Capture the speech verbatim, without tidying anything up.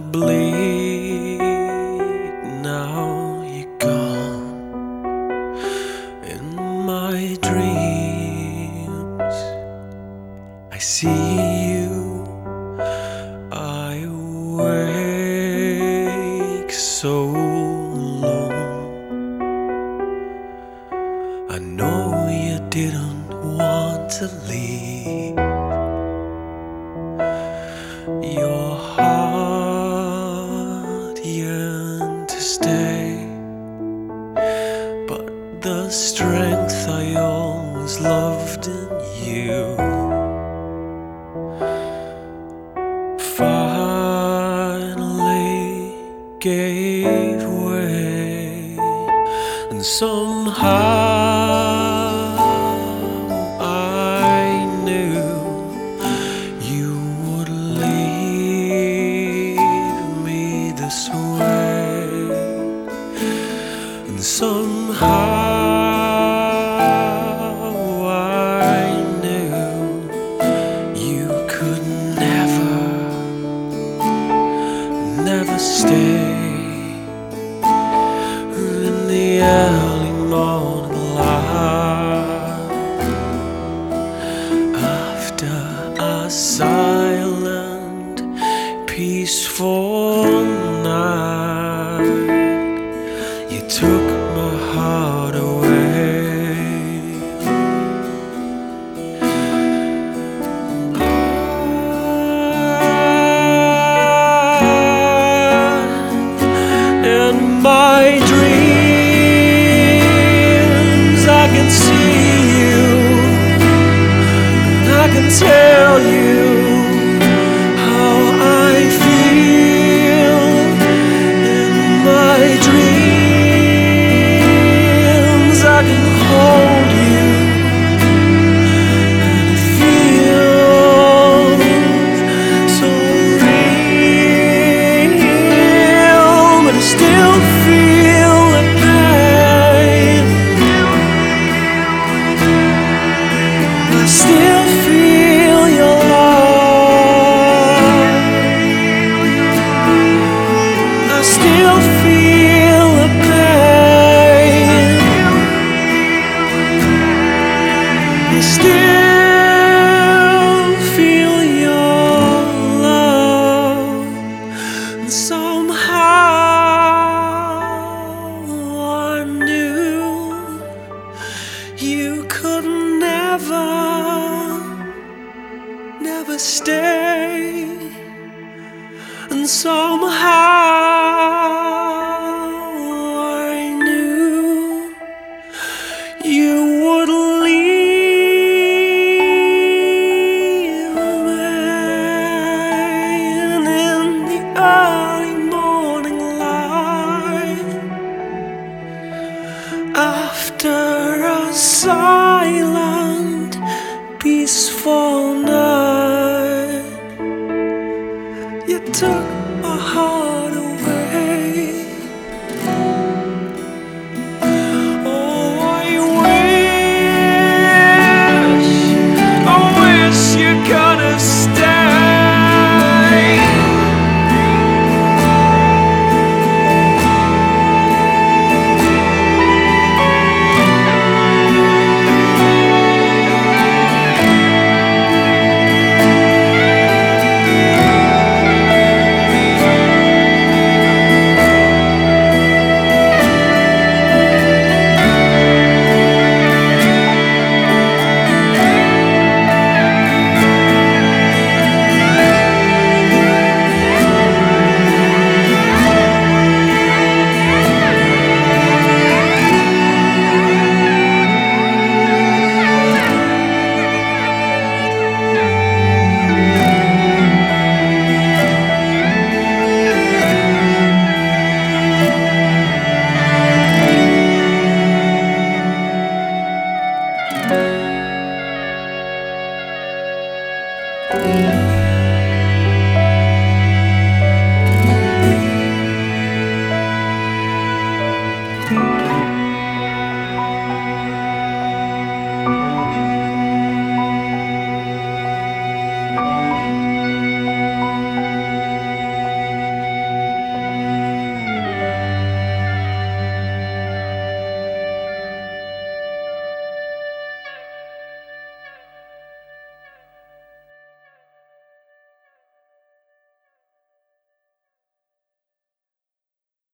bleed. Now you're gone. In my dreams I see you. I wake so alone. I know you didn't want to leave. Your heart yearned to stay, but the strength I always loved in you finally gave way. And somehow I knew you would leave me this way. And somehow I knew you could never, never stay. In the early morning light, after a silent, peaceful night, you took my heart away. In my dreams I can see you, and I can tell you how I feel. In my dreams I can hold you, and it feels so real, but I still feel the pain. I still feel your love. I still feel the pain. I still feel your love. And somehow I knew you could never, never stay. And somehow I knew you would leave me. And in the early morning light, after a silent, peaceful night, you took my heart